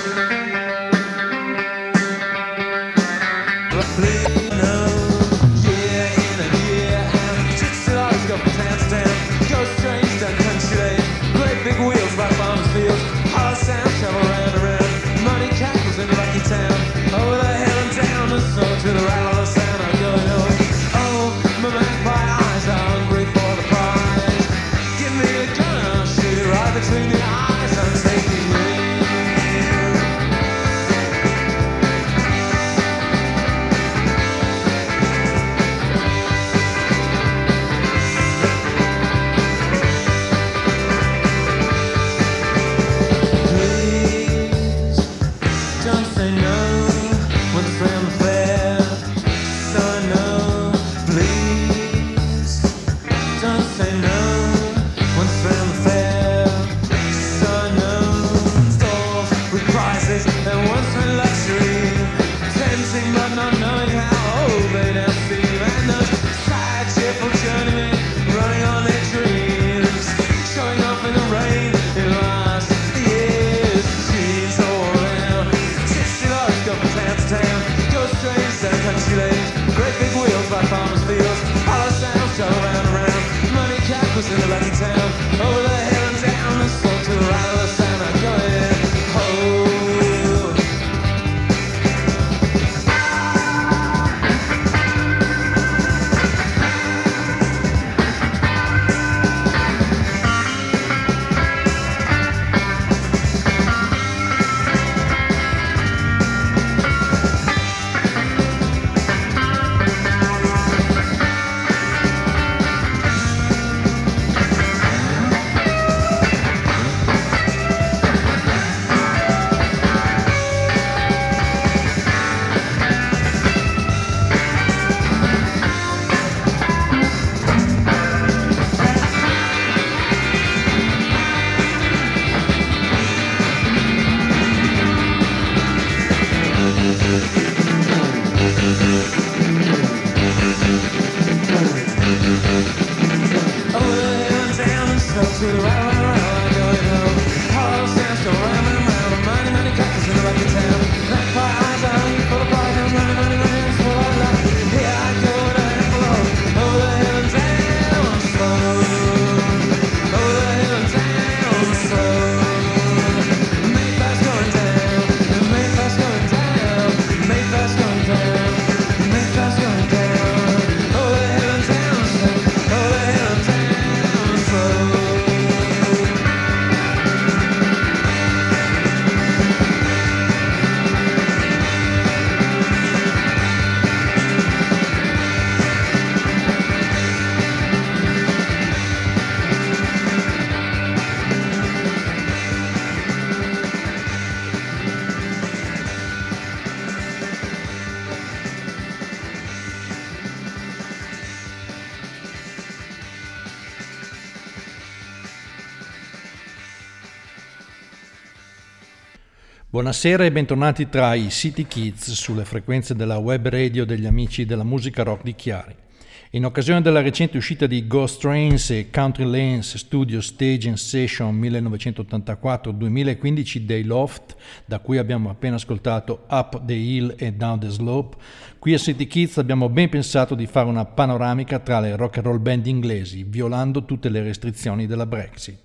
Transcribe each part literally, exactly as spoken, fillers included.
Buonasera e bentornati tra i City Kids sulle frequenze della web radio degli amici della musica rock di Chiari. In occasione della recente uscita di Ghost Trains e Country Lanes Studio Stage and Session millenovecentottantaquattro duemilaquindici dei Loft, da cui abbiamo appena ascoltato Up the Hill e Down the Slope, qui a City Kids abbiamo ben pensato di fare una panoramica tra le rock and roll band inglesi, violando tutte le restrizioni della Brexit.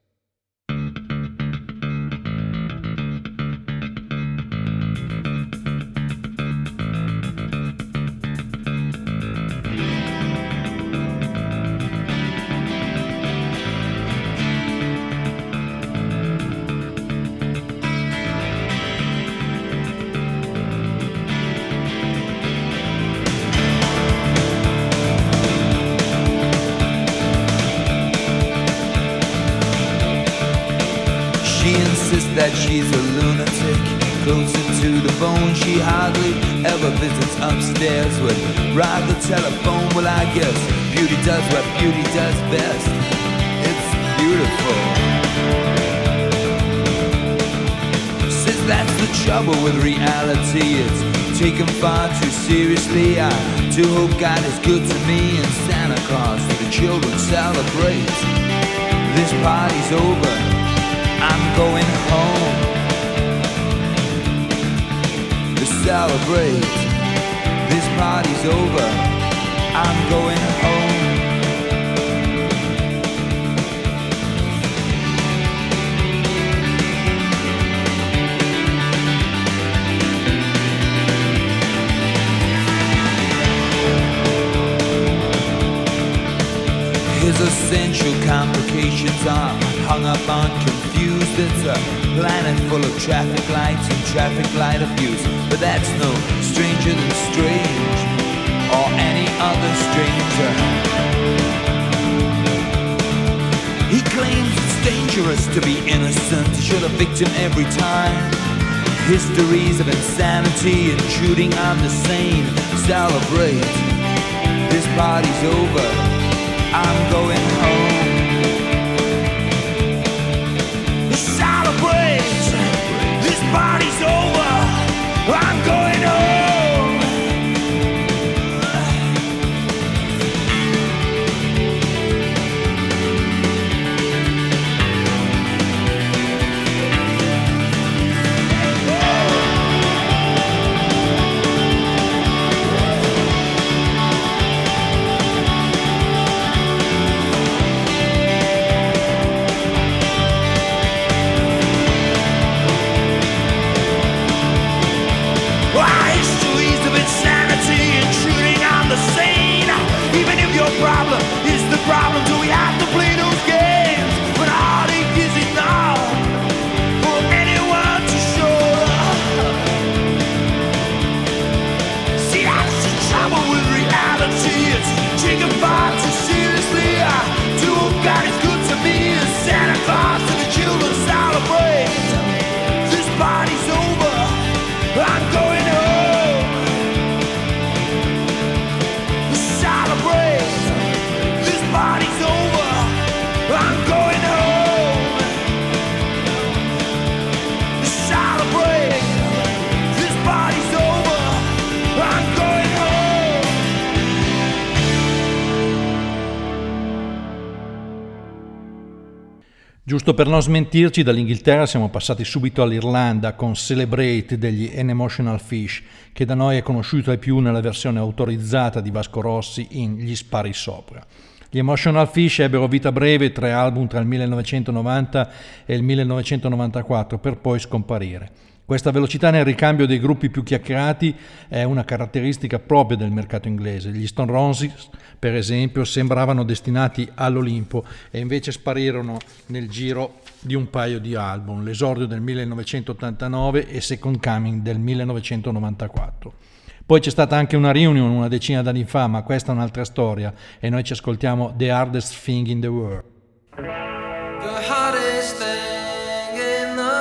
That she's a lunatic, closer to the bone. She hardly ever visits upstairs, would rather telephone. Well, I guess beauty does what beauty does best. It's beautiful. Says that's the trouble with reality, it's taken far too seriously. I do hope God is good to me and Santa Claus for the children celebrate. This party's over, I'm going home. celebrate. This party's over, I'm going home. His essential complications are hung up on confused. It's a planet full of traffic lights and traffic light abuse. But that's no stranger than strange, or any other stranger. He claims it's dangerous to be innocent. He should have victim every time. Histories of insanity intruding on the sane. Celebrate, this party's over, I'm going home. Celebrate, this party's over, I'm going home. Problem is the problem. Do we have to play those games when heartache is enough for anyone to show up? See, that's the trouble with reality. It's taken far too seriously. I do what God is good to me. And Santa Claus and the children celebrate. This party's over, I'm going home. Celebrate. Party's over, I'm going home. Celebrate, this party's over, I'm going home. Giusto per non smentirci, dall'Inghilterra siamo passati subito all'Irlanda con Celebrate degli An Emotional Fish, che da noi è conosciuto ai più nella versione autorizzata di Vasco Rossi in Gli spari sopra. Gli Emotional Fish ebbero vita breve, tre album tra il millenovecentonovanta e il millenovecentonovantaquattro, per poi scomparire. Questa velocità nel ricambio dei gruppi più chiacchierati è una caratteristica propria del mercato inglese. Gli Stone Roses, per esempio, sembravano destinati all'Olimpo e invece sparirono nel giro di un paio di album, l'esordio del millenovecentottantanove e Second Coming del millenovecentonovantaquattro. Poi c'è stata anche una reunion una decina d'anni fa, ma questa è un'altra storia e noi ci ascoltiamo The Hardest Thing in the World. The hardest thing in the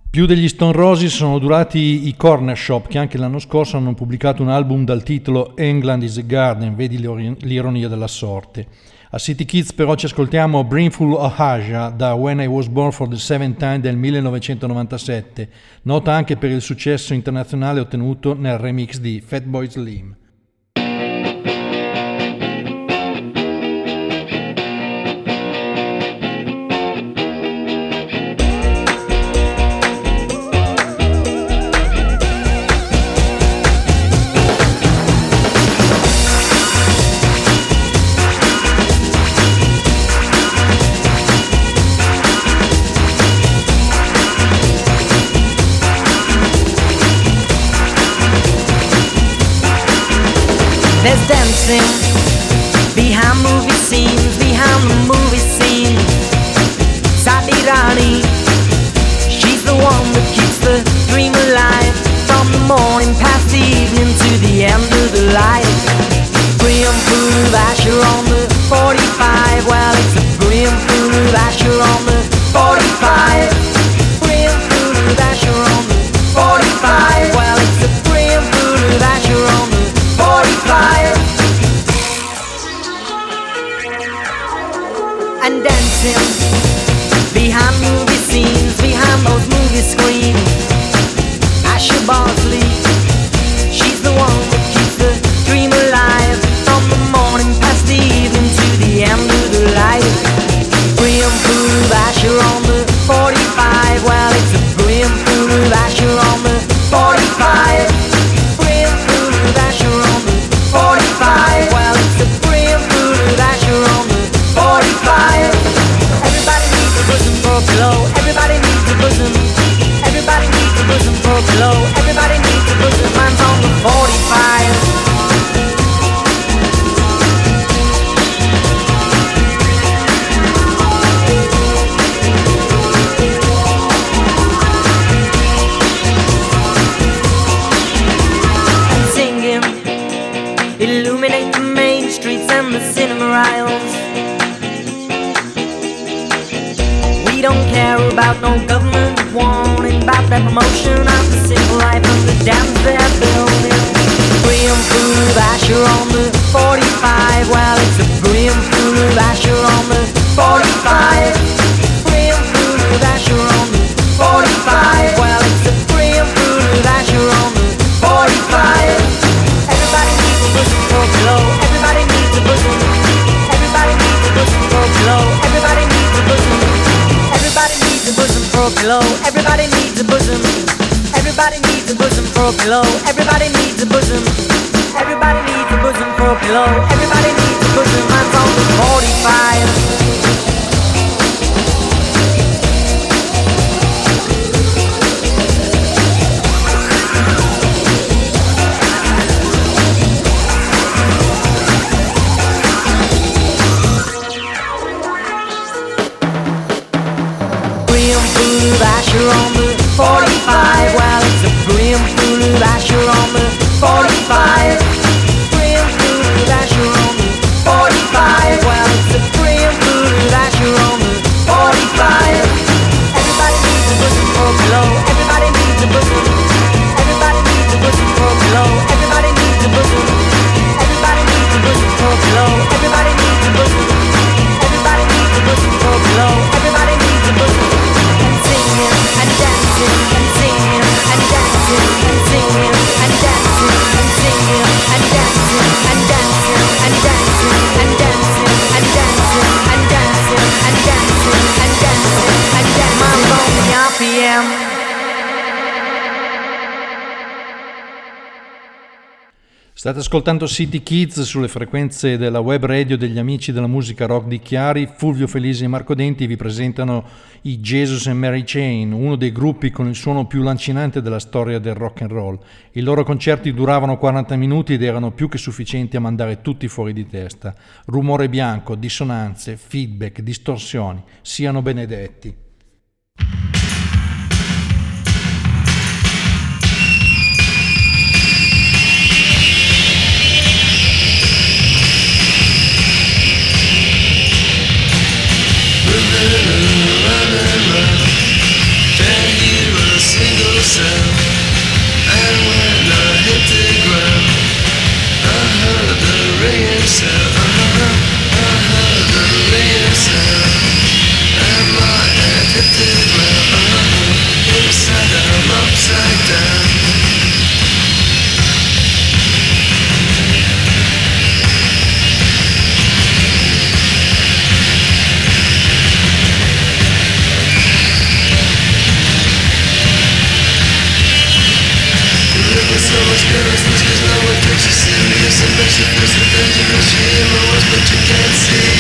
Più degli Stone Roses sono durati i Corner Shop, che anche l'anno scorso hanno pubblicato un album dal titolo England is a Garden, vedi l'ironia della sorte. A City Kids però ci ascoltiamo Brimful of Asia da When I Was Born for the Seventh Time del millenovecentonovantasette, nota anche per il successo internazionale ottenuto nel remix di Fatboy Slim. There's dancing behind movie scenes, behind the movie scene. Sadi Rani, she's the one that keeps the dream alive. From the morning past the evening to the end of the light. Brimful of Asher on the forty-five. Well, it's a brimful of Asher on the forty-five. Brimful of Asher on the forty-five. Well, it's a brimful of Asher on the forty-five. And dancing behind movie scenes, behind those movie screens. Asher Bosley, she's the one that keeps the dream alive. From the morning past the evening to the end of the light. Brimful of Asher on the forty-five. Well, it's a brimful of Asher on the forty-five. Brimful of Asher on the forty-five. Well, it's a brimful of Asher on the forty-five. Everybody needs a bosom for a pillow. Everybody needs a bosom. Everybody needs a bosom for a pillow. Everybody needs a bosom. Mine's on the forty-five. Illuminate the main streets and the cinema aisles. We don't care about no government warning about that promotion of the simple life of the dams they're building. Brimful of Asher on the forty-five. Well, it's a brimful of Asher on the forty-five. Brimful of Asher on the forty-five. Well, it's a brimful of Asher on the forty-five. Everybody needs a bosom for a pillow. Everybody needs a bosom. Everybody needs a bosom for a pillow. Everybody needs a bosom. Everybody needs a bosom for a pillow. Everybody needs a bosom. Everybody needs a bosom for a pillow. Everybody needs a bosom. Everybody needs a bosom for a pillow. Everybody needs a bosom. Mine's on the forty-five. Brimful of Asher on the forty-five. Well, it's a brimful of Asher on the forty-five. Brimful of Asher on the forty-five. Well, it's a brimful of Asher on the forty-five. Everybody needs a bosom for a pillow. Everybody needs a bosom. Everybody needs a bosom for a pillow. Everybody needs a bosom. Everybody needs a bosom for a pillow. Everybody needs a bosom. Everybody needs a bosom for a pillow. Everybody needs a bosom. And dancing and singing and dancing and singing and dancing and singing and dancing and dancing and dancing and dancing and dancing and dancing and dancing and dancing and dancing. My lonely R P M. State ascoltando City Kids sulle frequenze della web radio degli amici della musica rock di Chiari. Fulvio Felisi e Marco Denti vi presentano i Jesus and Mary Chain, uno dei gruppi con il suono più lancinante della storia del rock and roll. I loro concerti duravano quaranta minuti ed erano più che sufficienti a mandare tutti fuori di testa. Rumore bianco, dissonanze, feedback, distorsioni, siano benedetti. Run, run, run, run, run. Ten years sound. And when I hit the ground, I heard the ringing sound. I heard the ringing sound. And my head hit the ground. Inside down, upside down. So much carelessness, cause no one takes you serious. And makes you feel so dangerous. You hear my words but you can't see.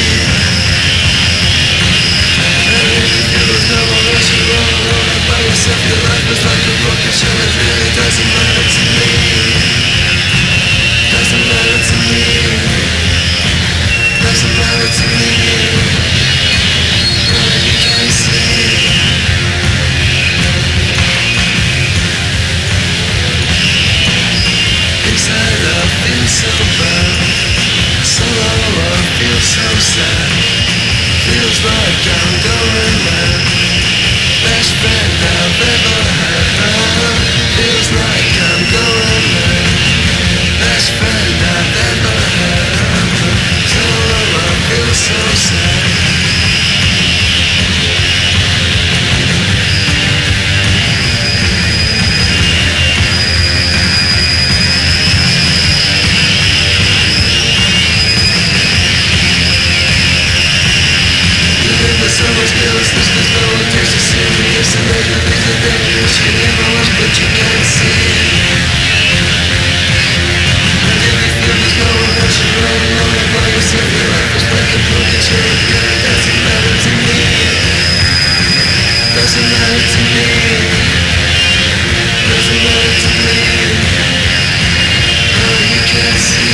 And if you feel there's no one else, you're all alone by yourself. Your life is like a broken shell. It really doesn't matter to me. Doesn't matter to me. Doesn't matter to me. No, you can't see. Inside I feel so bad, so low I feel so sad. Feels like I'm going mad. Best friend I've ever had. Feels like I'm going mad. Best friend I've ever had. So low I feel so sad. So much carelessness, cause no one takes you serious. And they can think they're dangerous. You hear my words but you can't see. And if you feel there's no one else, you're all alone by yourself. Your life is like a broken chain. It really doesn't matter to me. Doesn't matter to me. Doesn't matter to me. Oh, you can't see.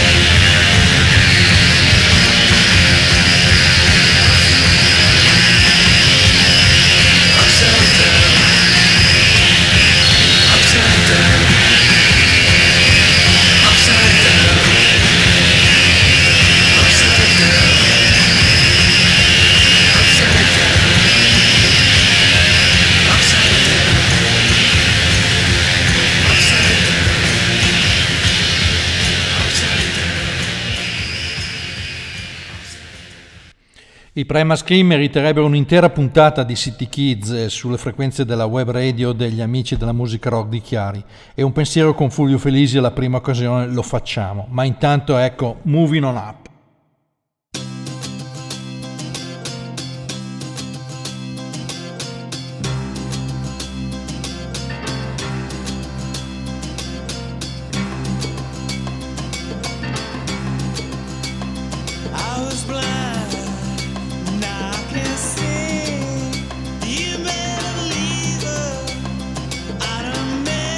I Primal Scream meriterebbero un'intera puntata di City Kids sulle frequenze della web radio degli amici della musica rock di Chiari, e un pensiero con Fulvio Felisi alla prima occasione lo facciamo, ma intanto ecco, moving on up.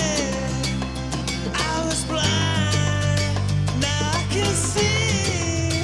See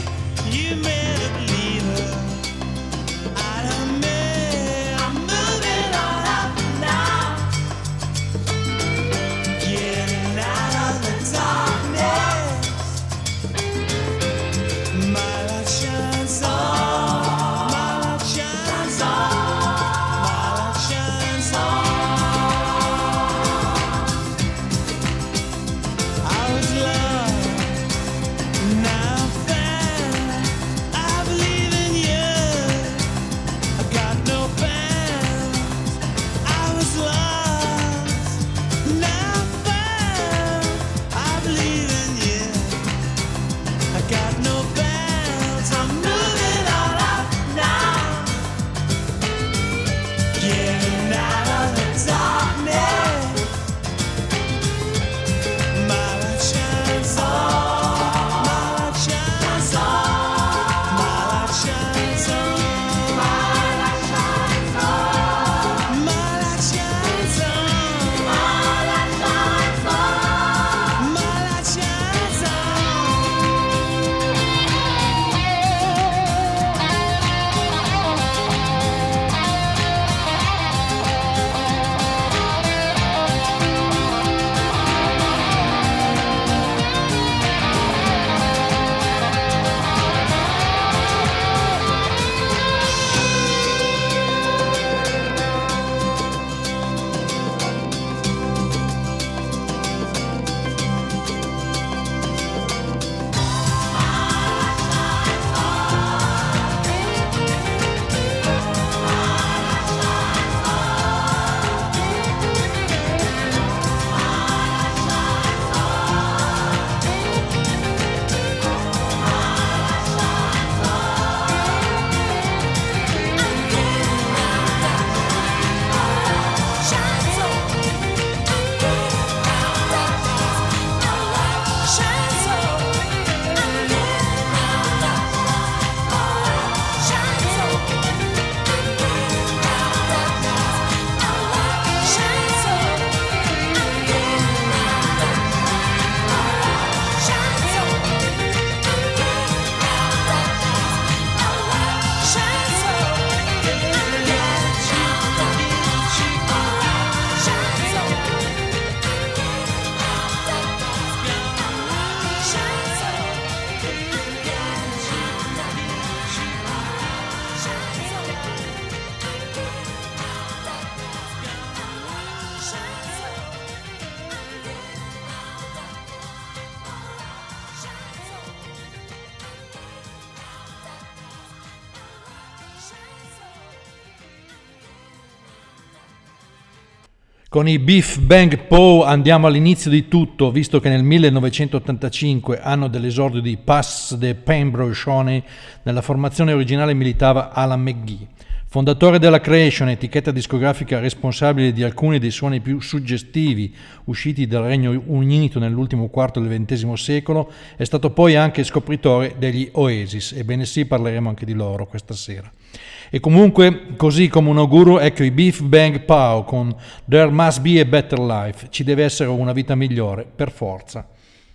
Con i Biff Bang Pow andiamo all'inizio di tutto, visto che nel millenovecentottantacinque, anno dell'esordio di Pass the Pembroke Shoney, nella formazione originale militava Alan McGee. Fondatore della Creation, etichetta discografica responsabile di alcuni dei suoni più suggestivi usciti dal Regno Unito nell'ultimo quarto del ventesimo secolo, è stato poi anche scopritore degli Oasis, ebbene sì, parleremo anche di loro questa sera. E comunque, così come un auguro, ecco i Biff Bang Pow con There Must Be a Better Life, ci deve essere una vita migliore, per forza.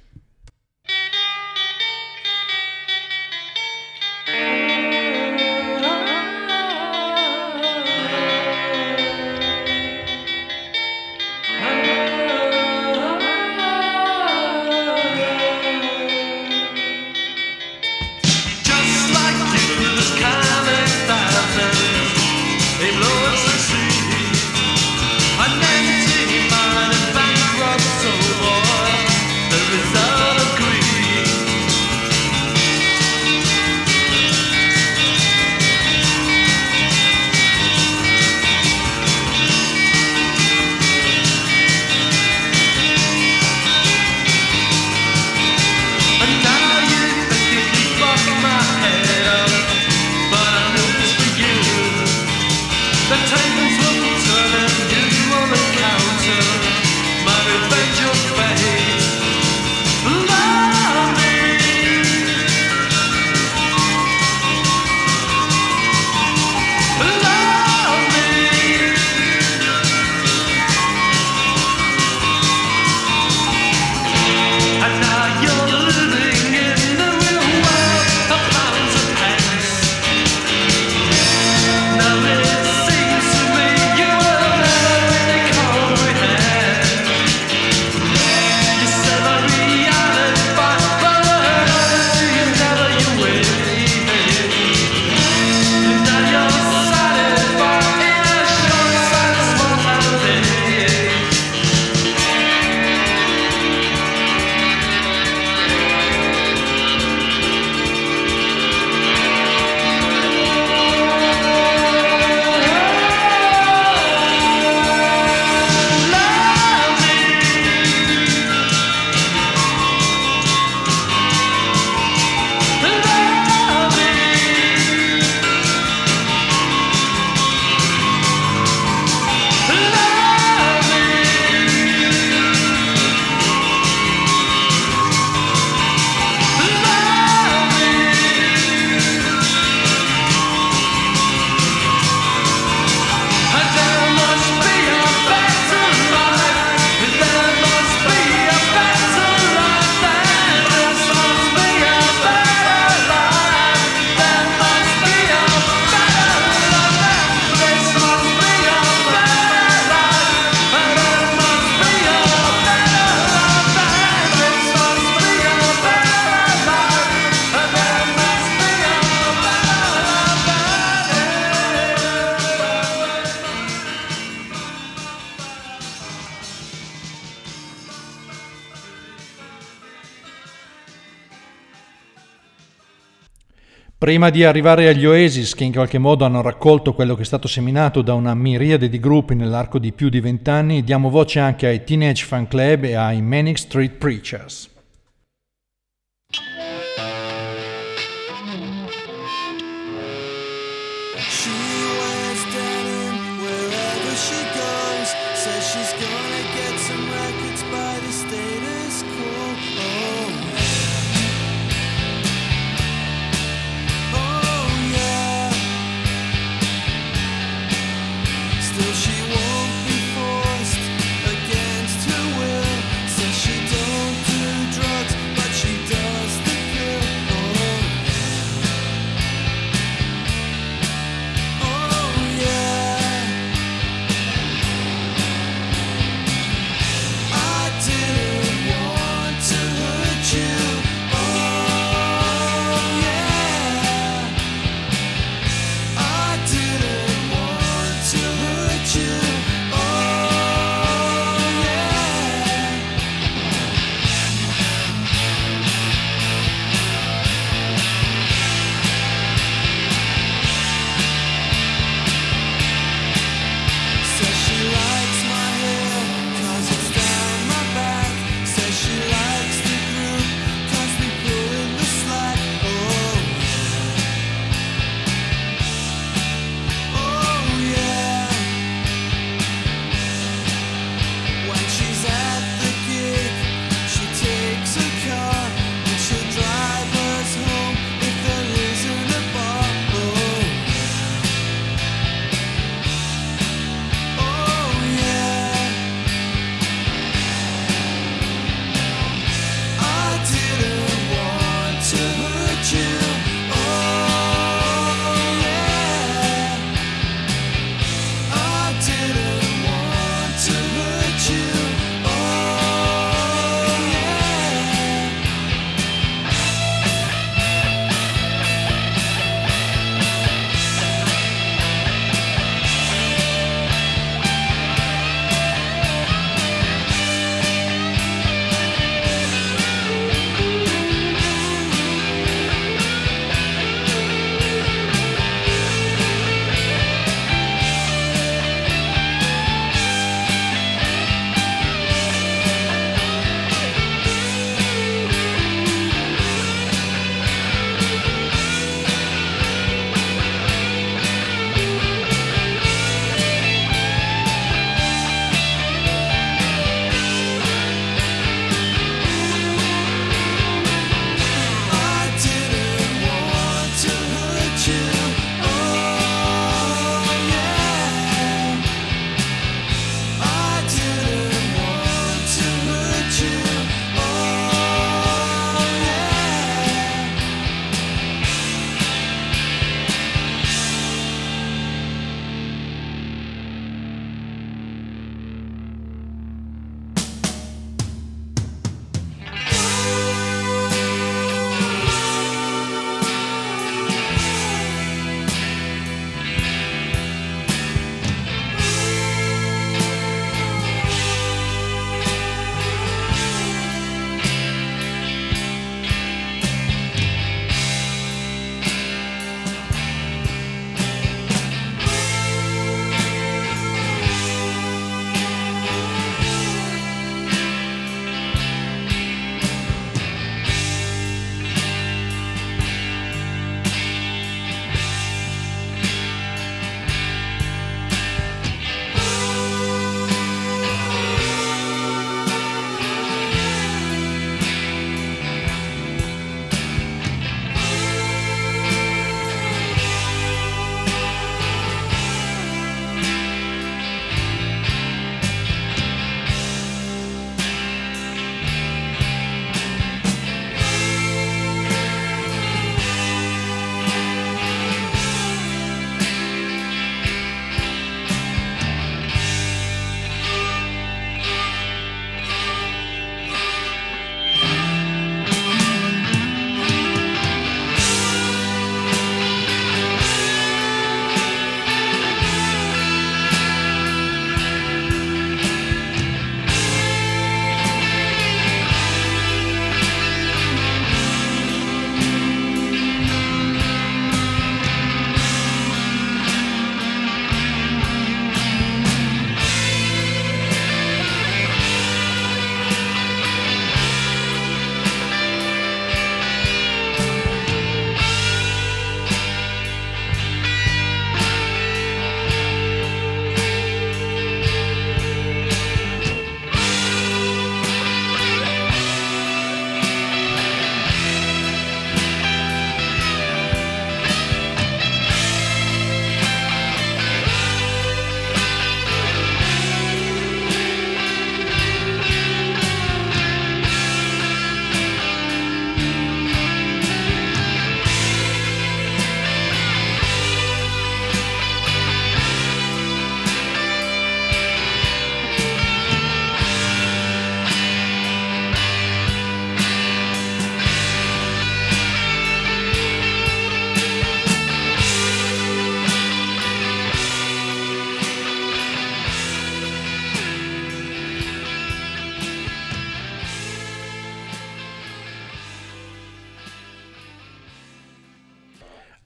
Prima di arrivare agli Oasis, che in qualche modo hanno raccolto quello che è stato seminato da una miriade di gruppi nell'arco di più di vent'anni, diamo voce anche ai Teenage Fan Club e ai Manic Street Preachers. Didn't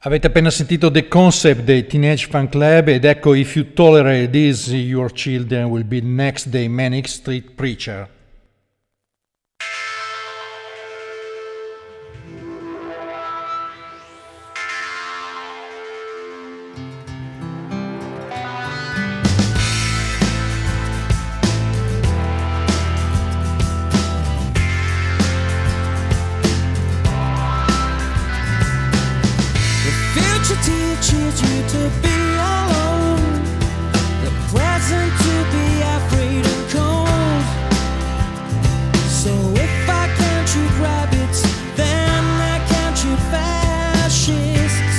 Avete appena sentito The Concept dei Teenage Fan Club ed ecco If You Tolerate This, Your Children Will Be Next dei Manic Street Preacher. Teaches you to be alone, the present to be afraid and cold. So if I can't shoot rabbits, then I can't shoot fascists.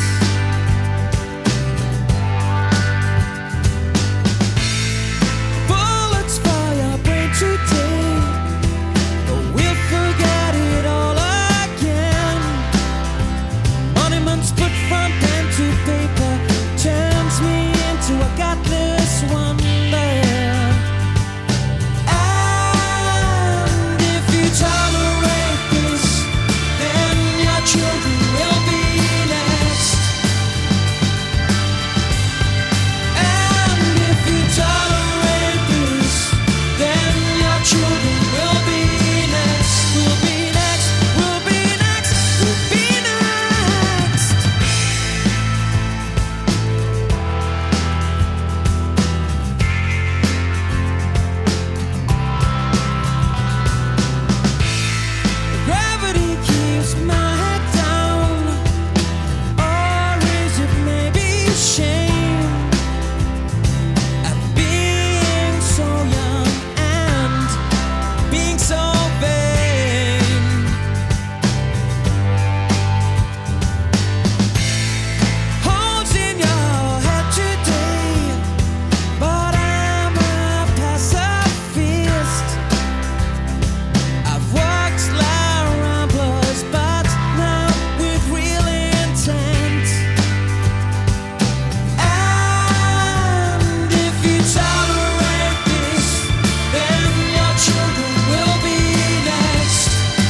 Bullets for your brain today, but we'll forget it all again. Monuments put from pen to paper turns me into a godless wonder. And if you tolerate this, then your children will be next. And if you tolerate this, then your children will be next. Will be next, will be next, will be next. Gravity keeps my head down, or is it maybe shame at being so young and being so vain? Holes in your head today, but I'm a pacifist. I've walked La Ramblas, but now with real intent. And if you tolerate this, then your children will be next.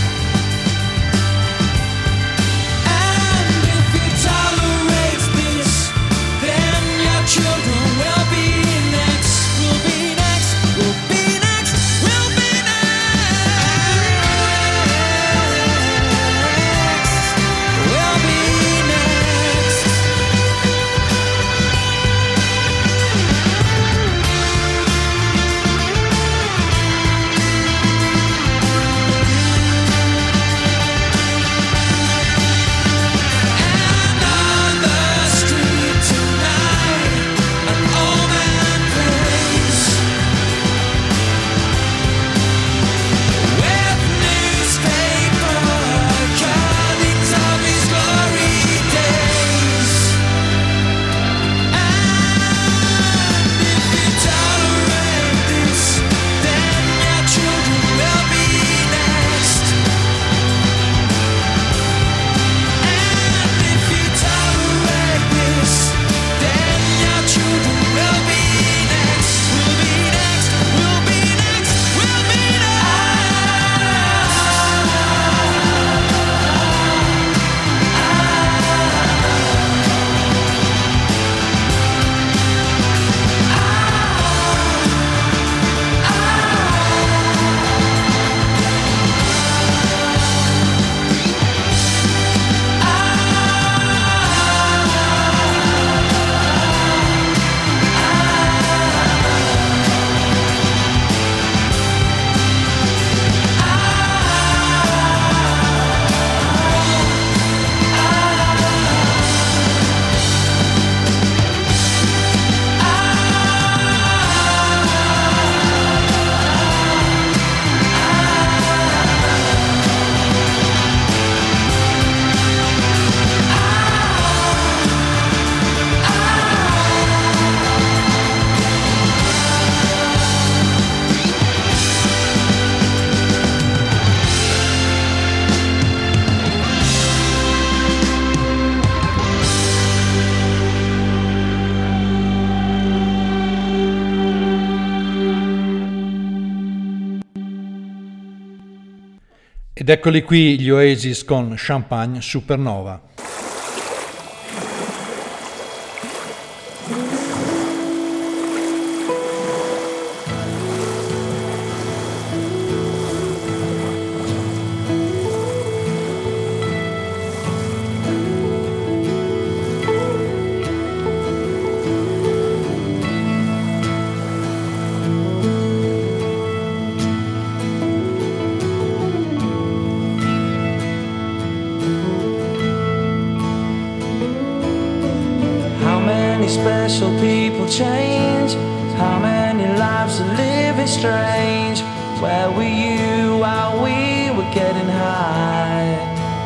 And if you tolerate this, then your children will be next. Will be next, will be next, will be next. Will be next. And on the street tonight, an old man plays with newspaper cuttings of his glory days. And if you tolerate this, then your children will be next. And if you tolerate this, then your children will be next. Will be next, will be next, will be Ed eccoli qui gli Oasis con Champagne Supernova. people change? How many lives are living strange? Where were you while we were getting high?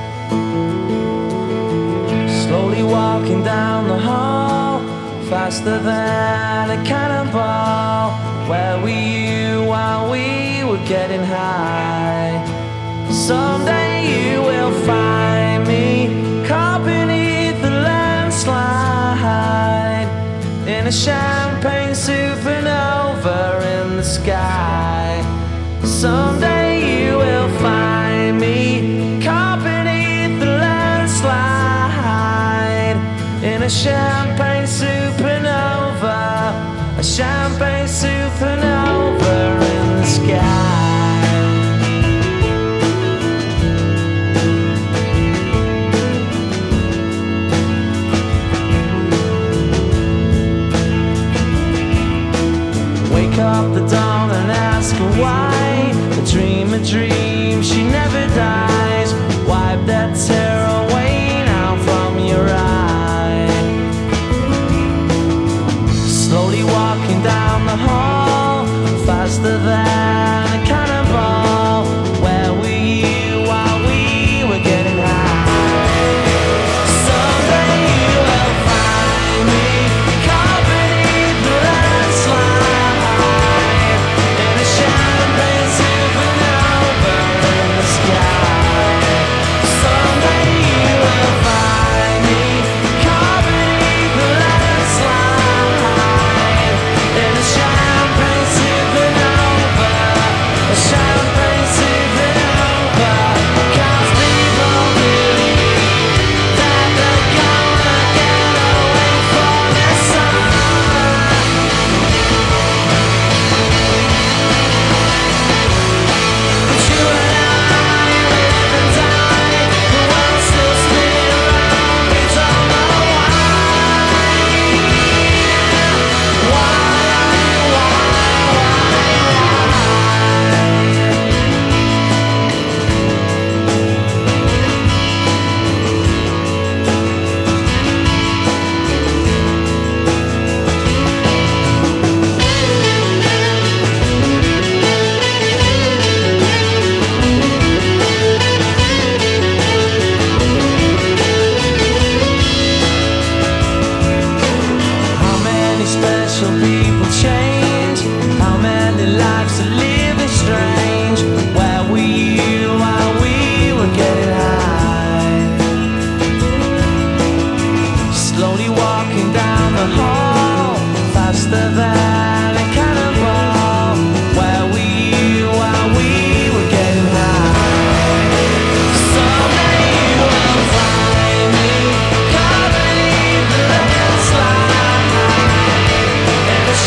Slowly walking down the hall, faster than a cannonball. Where were you while we were getting high? Someday you will find me caught beneath the landslide, in a champagne supernova in the sky. Someday you will find me caught beneath the landslide, in a champagne supernova, a champagne supernova in the sky. Wake up the dawn and ask her why. A dream, a dream, she never dies. Wipe that tear away now from your eye. Slowly walking down the hall, faster than a cannonball. Where were you while we were getting high? Someday you will find me caught beneath the landslide, in a champagne supernova in the sky. Someday you will find me caught beneath the landslide, in a champagne supernova, a champagne supernova. 'Cause people believe that they're gonna get away from the sun. But you and I live and die, the world still spin around, we don't know why. Why, why, How many special people change? How many lives are living strange? Where were you while we were getting high? Slowly walking down the hall, faster than a cannonball. Where were you while we were getting high? Someday you will find me caught beneath the landslide, in a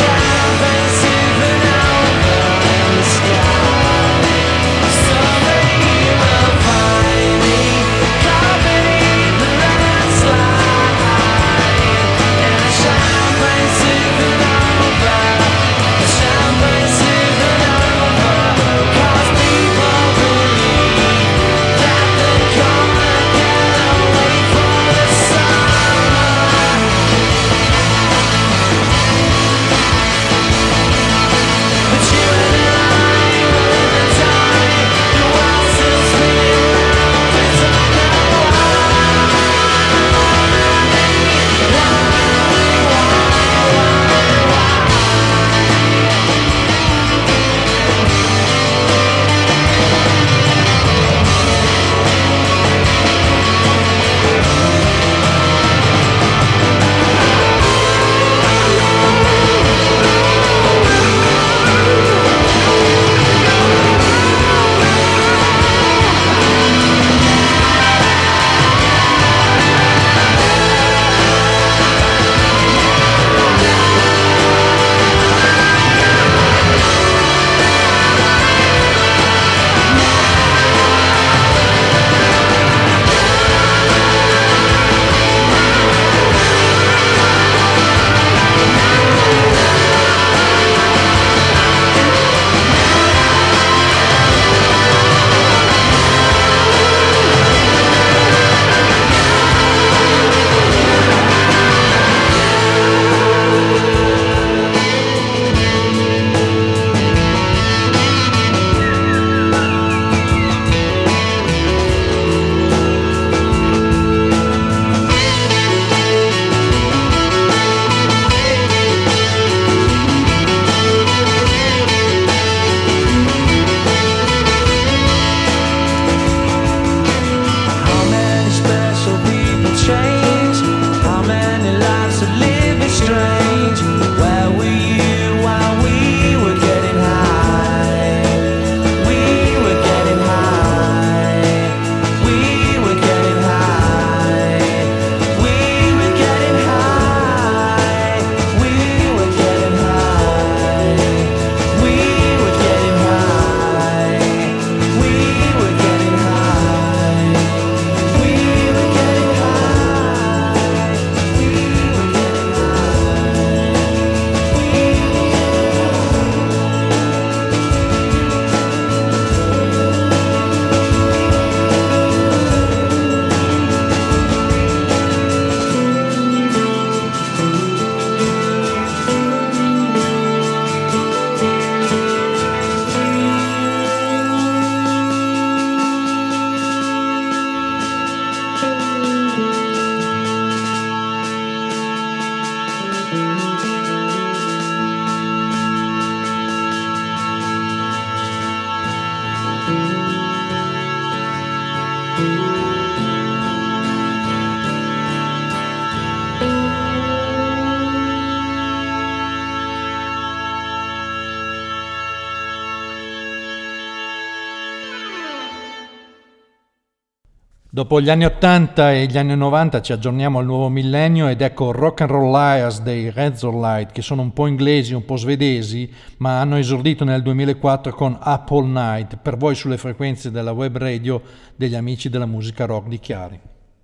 Dopo gli anni ottanta e gli anni novanta ci aggiorniamo al nuovo millennio ed ecco Rock and Roll Liars dei Razorlight, che sono un po' inglesi, un po' svedesi, ma hanno esordito nel duemilaquattro con Up All Night, per voi sulle frequenze della web radio degli amici della musica rock di Chiari.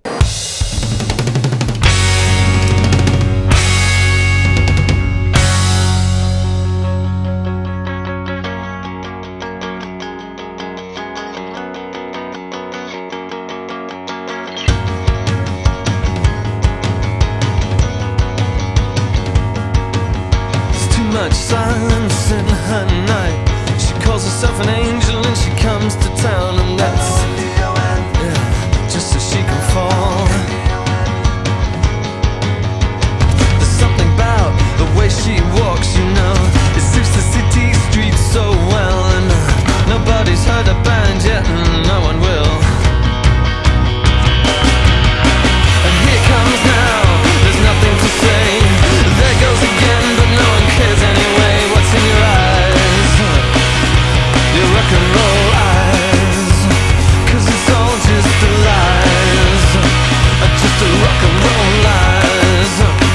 Silence in her night. She calls herself an angel and she comes to town, and that's yeah, just so she can fall. There's something about the way she walks, you know. It suits the city streets so well, and uh, nobody's heard a band yet, and no one will. And here comes now, there's nothing to say. There goes again, but no one cares anyway. What's in your eyes? Your rock and roll eyes. 'Cause it's all just a lies. Just a rock and roll lies.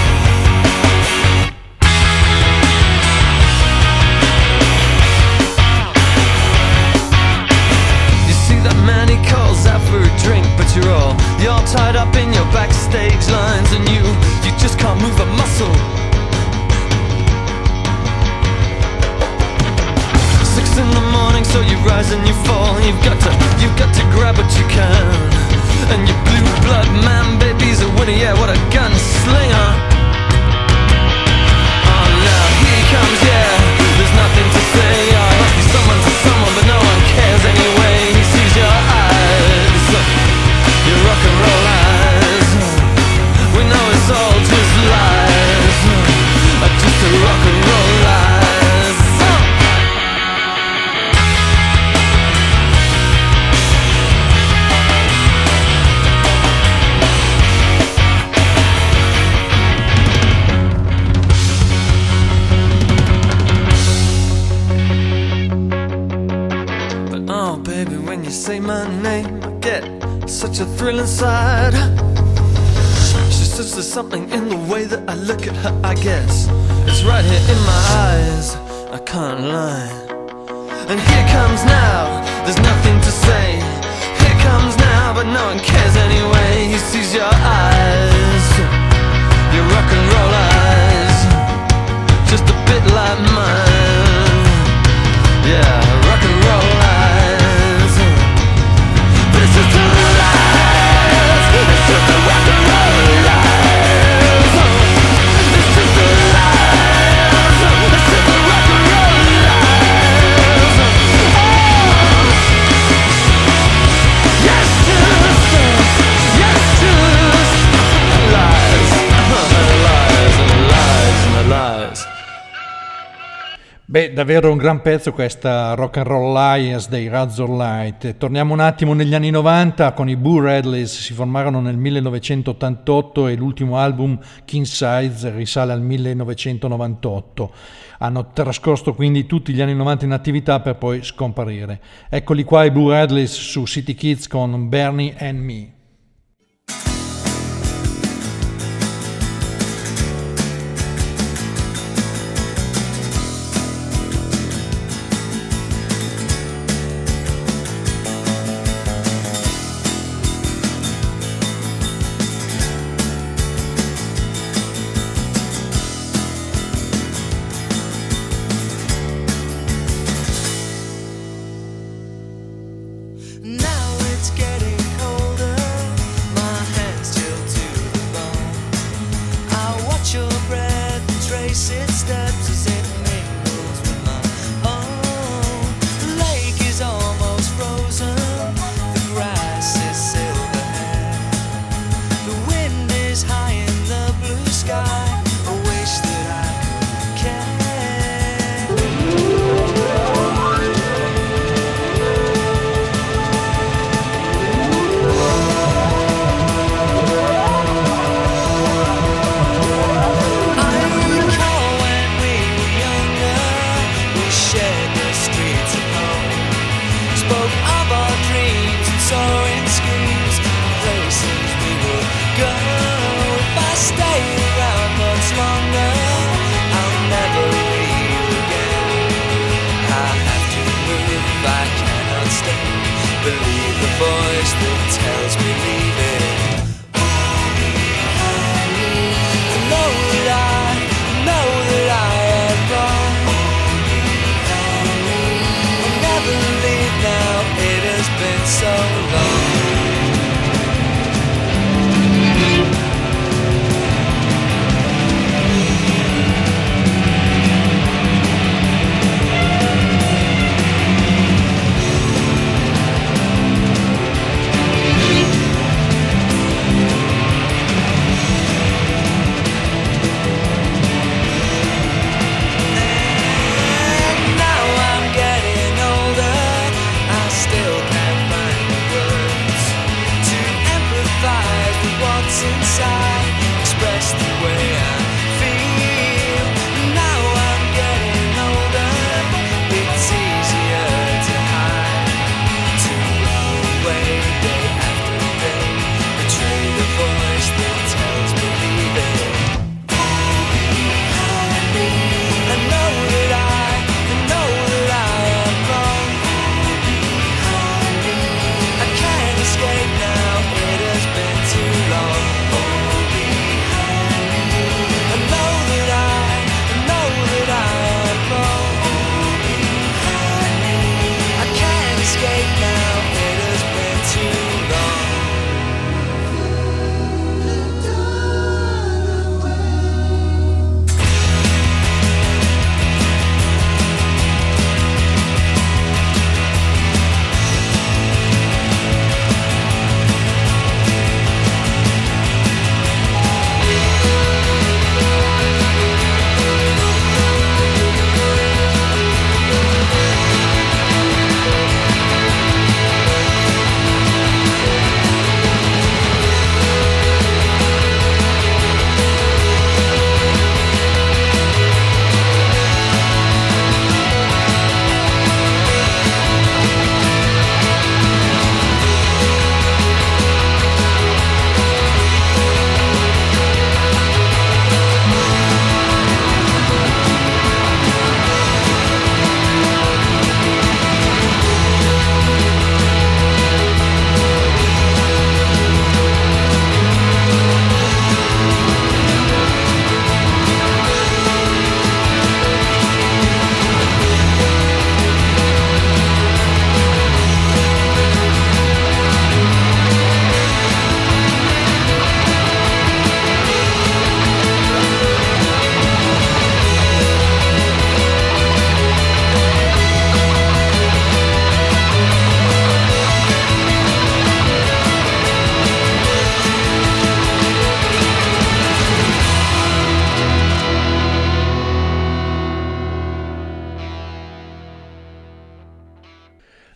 You see that man, he calls out for a drink, but you're all, you're all tied up in your backstage lines, and you, you just can't move a muscle. Six in the morning, so you rise and you fall. You've got to, you've got to grab what you can. And your blue blood man, baby's a winner, yeah, what a gunslinger. Oh, now he comes, yeah, there's nothing to say. I must be someone to someone, but no one cares anyway. He sees your eyes, your rock and roll eyes. We know it's all just lies, just a rock and roll lies. Say my name, I get such a thrill inside. She says there's something in the way that I look at her, I guess it's right here in my eyes, I can't lie. And here comes now, there's nothing to say. Here comes now, but no one cares anyway. He sees your eyes, your rock and roll eyes, just a bit like mine. Yeah, rock and roll eyes. This is the lies. This is the rock and roll lies. This is the lies. This is the rock and roll lies. Oh. Yes, just, yes, just lies, lies and lies and lies. Beh, davvero un gran pezzo questa Rock and Roll Liars dei Razorlight. Torniamo un attimo negli anni novanta, con i Boo Radleys si formarono nel millenovecentottantotto e l'ultimo album King Size risale al millenovecentonovantotto. Hanno trascorso quindi tutti gli anni novanta in attività per poi scomparire. Eccoli qua i Boo Radleys su City Kids con Bernie and Me. Now it's getting colder.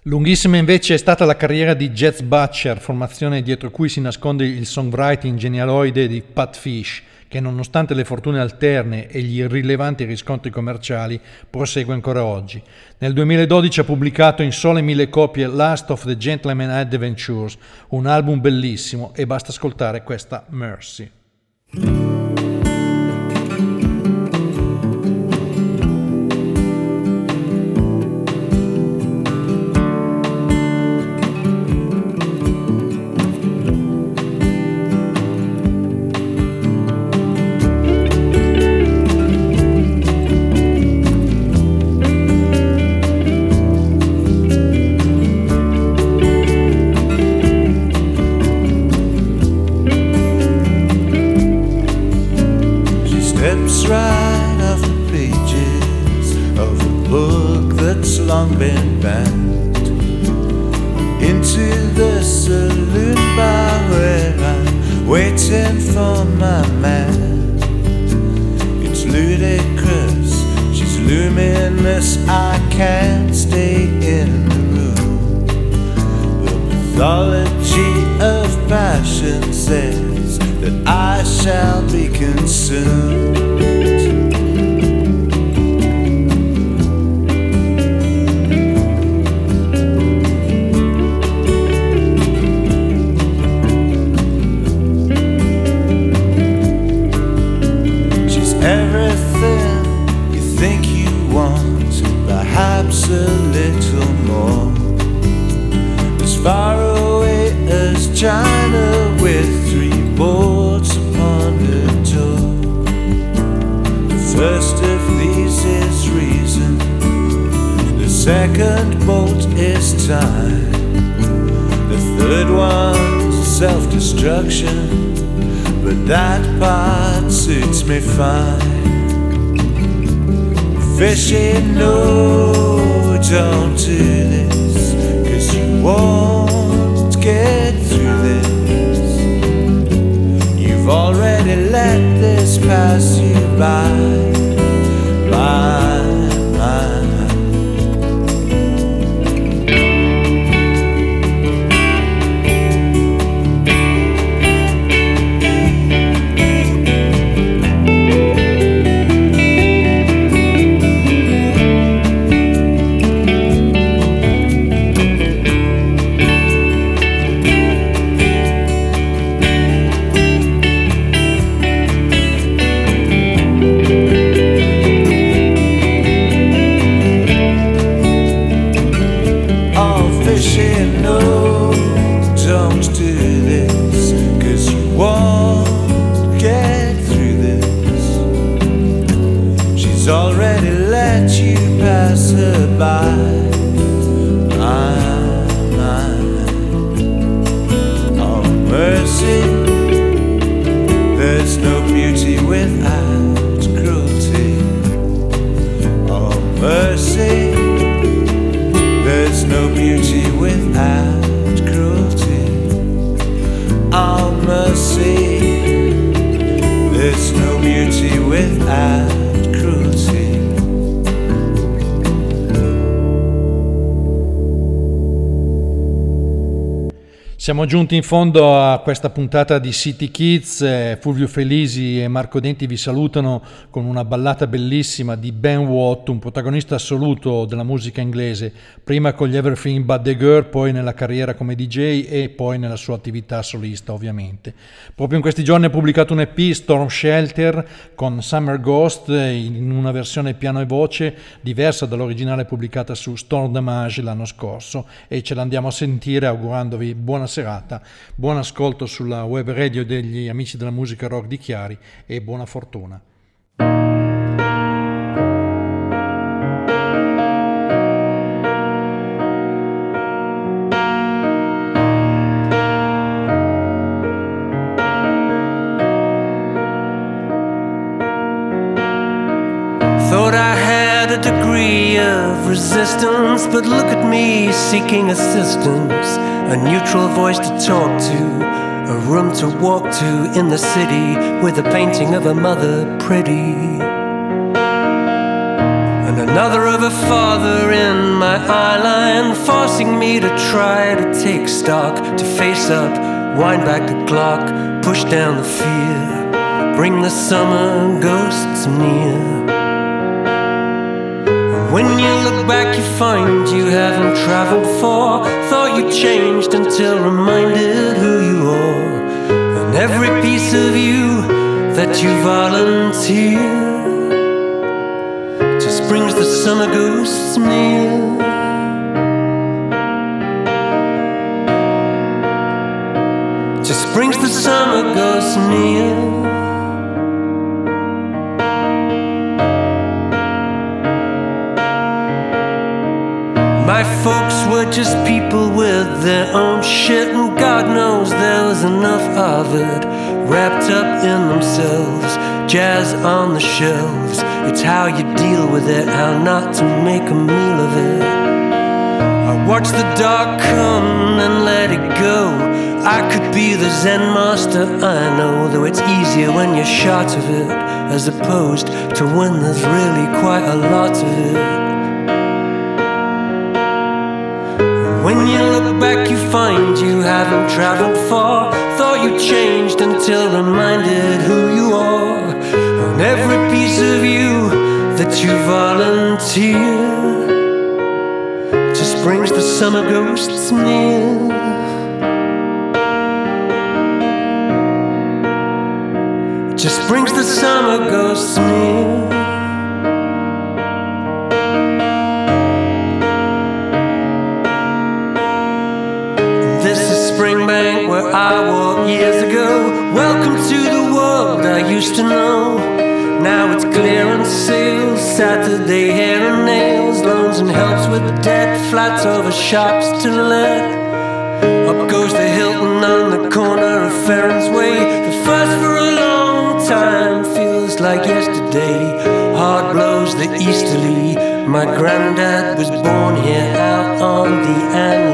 Lunghissima invece è stata la carriera di Jets Butcher, formazione dietro cui si nasconde il songwriting genialoide di Pat Fish, che nonostante le fortune alterne e gli irrilevanti riscontri commerciali prosegue ancora oggi. Nel duemiladodici ha pubblicato in sole mille copie Last of the Gentleman Adventures, un album bellissimo, e basta ascoltare questa Mercy. Fishing, no, don't do this, 'cause you won't get through this. You've already let this pass you by, by, by. Siamo giunti in fondo a questa puntata di City Kids. Fulvio Felisi e Marco Denti vi salutano con una ballata bellissima di Ben Watt, un protagonista assoluto della musica inglese, prima con gli Everything But The Girl, poi nella carriera come D J e poi nella sua attività solista ovviamente. Proprio in questi giorni ha pubblicato un E P, Storm Shelter, con Summer Ghost in una versione piano e voce diversa dall'originale pubblicata su Storm Damage l'anno scorso, e ce l'andiamo a sentire augurandovi buona serata, buon ascolto sulla web radio degli amici della musica rock di Chiari e buona fortuna. Thought I had a degree of resistance, but look at me seeking assistance, a neutral voice to talk to, a room to walk to in the city with a painting of a mother pretty. and another of a father in my eyeline, forcing me to try to take stock, to face up, wind back the clock, push down the fear, bring the summer ghosts near. When you look back you find you haven't traveled far, thought you changed until reminded who you are, and every piece of you that you volunteer just brings the summer ghosts near. Just brings the summer ghosts near. My folks were just people with their own shit, and God knows there was enough of it wrapped up in themselves. Jazz on the shelves, it's how you deal with it, how not to make a meal of it. I watch the dark come and let it go. I could be the Zen master, I know, though it's easier when you're short of it, as opposed to when there's really quite a lot of it. When you look back you find you haven't traveled far, thought you changed until reminded who you are, and every piece of you that you volunteer just brings the summer ghosts near. Just brings the summer ghosts near. Springbank where I walked years ago. Welcome to the world I used to know. Now it's clearance sales, Saturday hair and nails, loans and helps with debt, flats over shops to let. Up goes the Hilton on the corner of Ferrens Way. The first for a long time feels like yesterday. Hard blows the easterly. My granddad was born here out on the Andes.